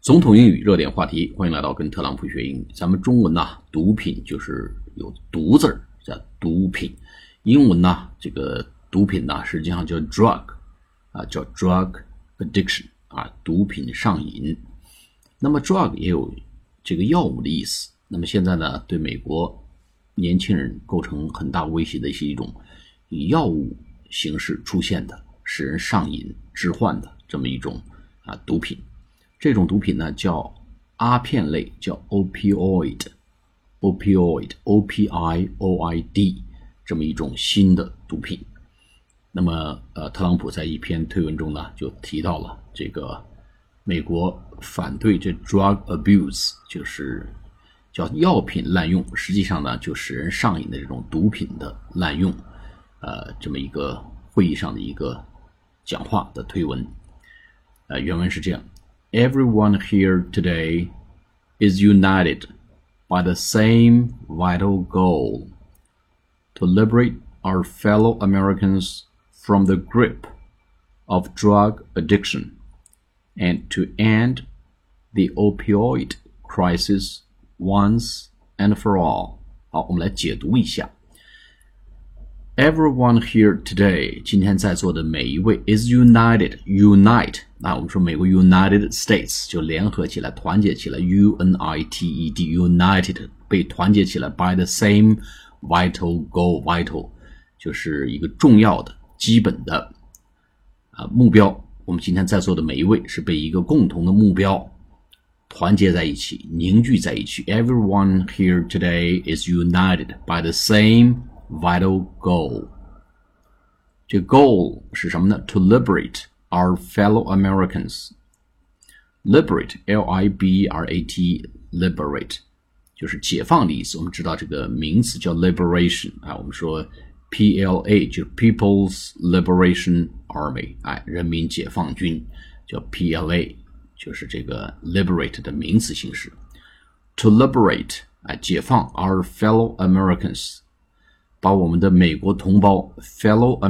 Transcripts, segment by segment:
总统英语热点话题，欢迎来到跟特朗普学英语。咱们中文毒品就是有毒字叫毒品，英文这个毒品实际上叫 drug 叫 drug addiction 毒品上瘾。那么 drug 也有这个药物的意思。那么现在对美国年轻人构成很大威胁的是一种以药物形式出现的，使人上瘾致幻的这么一种毒品。这种毒品叫阿片类，叫 opioid O-P-I-O-I-D 这么一种新的毒品。那么特朗普在一篇推文中就提到了这个美国反对这 drug abuse， 就是叫药品滥用，实际上就使人上瘾的这种毒品的滥用这么一个会议上的一个讲话的推文。原文是这样：Everyone here today is united by the same vital goal, to liberate our fellow Americans from the grip of drug addiction and to end the opioid crisis once and for all. 好，我们来解读一下。Everyone here today， 今天在座的每一位 is unite， 我们说美国 United States 就联合起来，团结起来 united united 被团结起来 by the same vital goal， vital 就是一个重要的基本的目标。我们今天在座的每一位是被一个共同的目标团结在一起，凝聚在一起。Everyone here today is united by the same vital goal。 这 goal 是什么呢？ To liberate our fellow Americans。 Liberate L-I-B-E-R-A-T liberate 就是解放的意思。我们知道这个名词叫 liberation 我们说 PLA 就是 People's Liberation Army 人民解放军，叫 PLA 就是这个 liberate 的名词形式。 To liberate 解放 our fellow Americans，把我们的美国同胞 fellow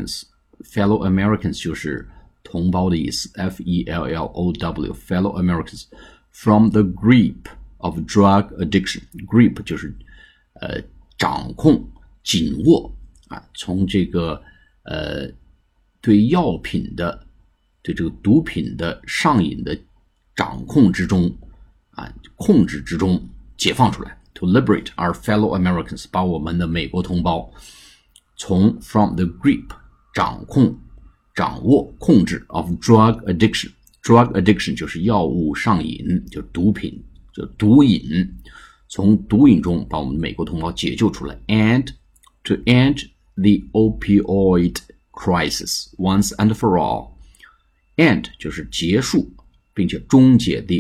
Americans 就是同胞的意思 F-E-L-L-O-W fellow Americans from the grip of drug addiction。 grip 就是掌控紧握从这个对药品的对这个毒品的上瘾的掌控之中控制之中解放出来。To liberate our fellow Americans， 把我们的美国同胞从 from the grip 掌控、掌握、控制 of drug addiction。 drug addiction 就是药物上瘾，就毒品，就毒瘾，从毒瘾中把我们的美国同胞解救出来。And to end the opioid crisis once and for all。 end 就是结束并且终结 the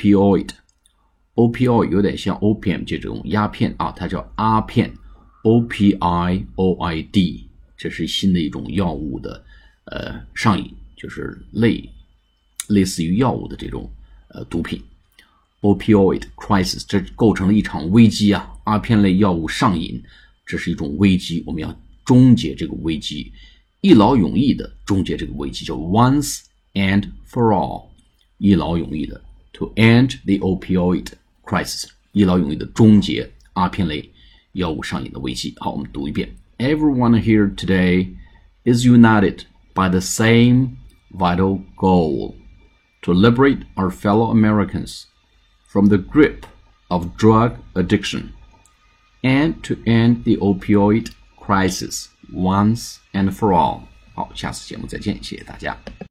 opioid有点像 opium 这种鸦片它叫阿片 O-P-I-O-I-D， 这是新的一种药物的上瘾，就是类似于药物的这种毒品。 Opioid crisis 这构成了一场危机阿片类药物上瘾，这是一种危机，我们要终结这个危机，一劳永逸的终结这个危机，叫 once and for all， 一劳永逸的 to end the opioid crisis， 一劳永逸的终结阿片类药物上瘾的危机。好，我们读一遍。 Everyone here today is united by the same vital goal, to liberate our fellow Americans from the grip of drug addiction and to end the opioid crisis once and for all。 好，下次节目再见，谢谢大家。